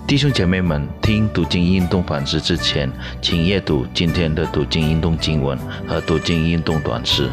弟兄姐妹们，听读经运动反思之前，请阅读今天的读经运动经文和读经运动短诗。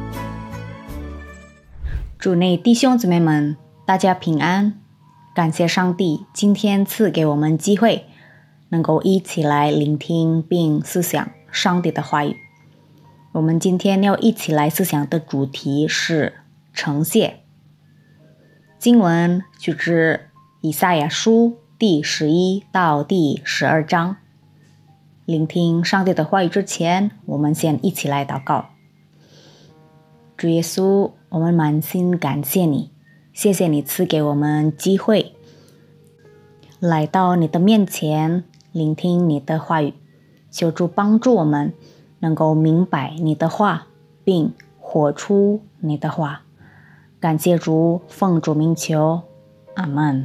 主内弟兄姊妹们，大家平安！感谢上帝今天赐给我们机会，能够一起来聆听并思想上帝的话语。我们今天要一起来思想的主题是诚谢。经文取自以赛亚书第11到第12章。聆听上帝的话语之前，我们先一起来祷告。主耶稣，我们满心感谢你，谢谢你赐给我们机会来到你的面前，聆听你的话语。求主帮助我们能够明白你的话，并活出你的话。感谢主，奉主名求，阿们。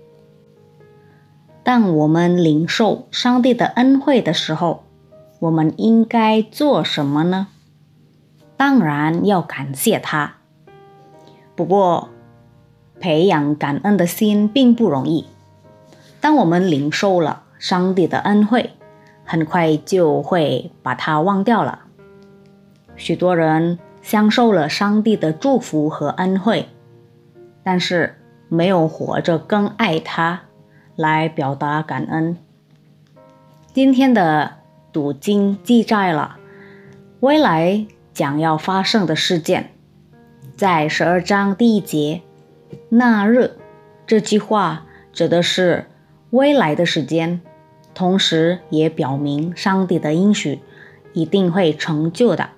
当我们领受上帝的恩惠的时候，我们应该做什么呢？当然要感谢他。不过，培养感恩的心并不容易。当我们领受了上帝的恩惠，很快就会把它忘掉了。许多人享受了上帝的祝福和恩惠，但是没有活着更爱他来表达感恩。今天的读经记载了未来将要发生的事件。在12章第1节，那日，这句话指的是未来的时间，同时也表明上帝的应许一定会成就的。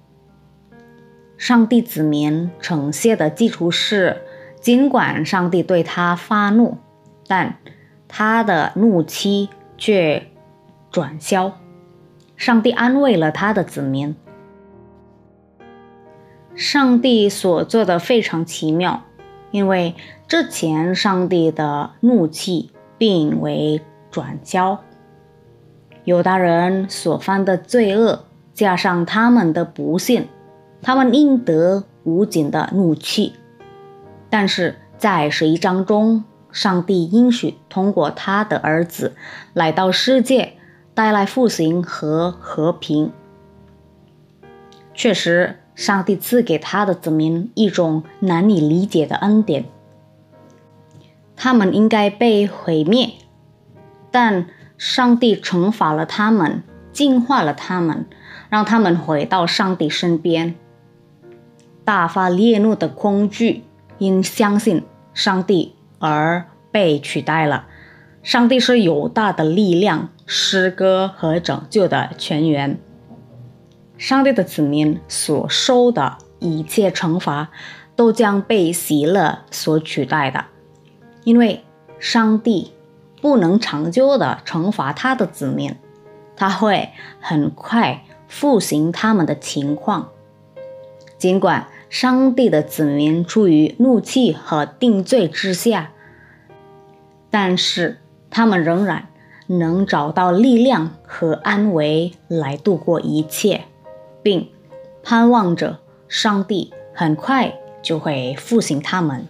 上帝子民诚谢的基础是，尽管上帝对他发怒，但他的怒气却转消。上帝安慰了他的子民。上帝所做的非常奇妙，因为之前上帝的怒气并未转消。犹大人所犯的罪恶，加上他们的不信，他们应得无尽的怒气。但是在11章中，上帝应许通过他的儿子来到世界，带来复兴和和平。确实，上帝赐给他的子民一种难以理解的恩典。他们应该被毁灭，但上帝惩罚了他们，净化了他们，让他们回到上帝身边。大发烈怒的恐惧因相信上帝而被取代了。上帝是有大的力量、诗歌和拯救的泉源。上帝的子民所受的一切惩罚都将被喜乐所取代的，因为上帝不能长久地惩罚他的子民，他会很快复兴他们的情况。尽管上帝的子民处于怒气和定罪之下，但是他们仍然能找到力量和安慰来度过一切，并盼望着上帝很快就会复兴他们。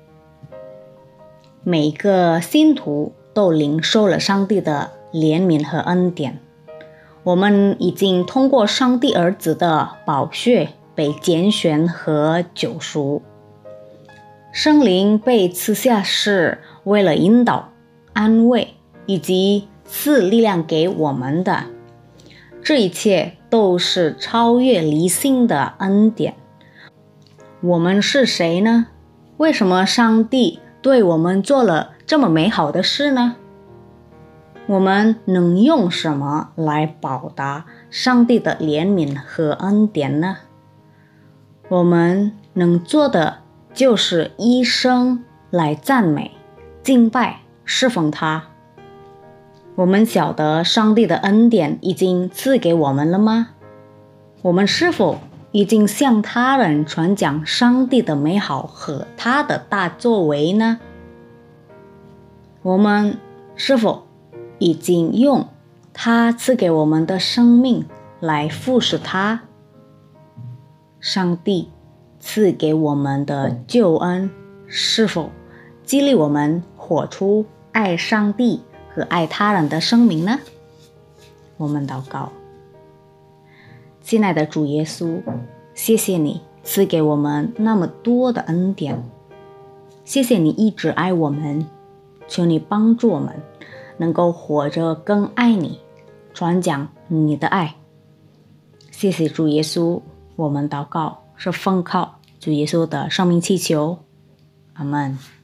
每个信徒都领受了上帝的怜悯和恩典。我们已经通过上帝儿子的宝血被拣选和救赎。圣灵被赐下是为了引导、安慰以及赐力量给我们的。这一切都是超越理性的恩典。我们是谁呢？为什么上帝对我们做了这么美好的事呢？我们能用什么来报答上帝的怜悯和恩典呢？我们能做的就是一生来赞美、敬拜、侍奉他。我们晓得上帝的恩典已经赐给我们了吗？我们是否已经向他人传讲上帝的美好和他的大作为呢？我们是否已经用他赐给我们的生命来服侍他？上帝赐给我们的救恩是否激励我们活出爱上帝和爱他人的生命呢？我们祷告。亲爱的主耶稣，谢谢你赐给我们那么多的恩典，谢谢你一直爱我们，求你帮助我们能够活着更爱你，传讲你的爱。谢谢主耶稣，我们祷告是奉靠主耶稣的生命祈求，阿们。